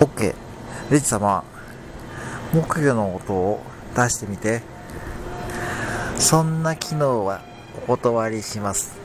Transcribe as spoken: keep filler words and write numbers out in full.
OK。レジ様、木魚の音を出してみて。そんな機能はお断りします。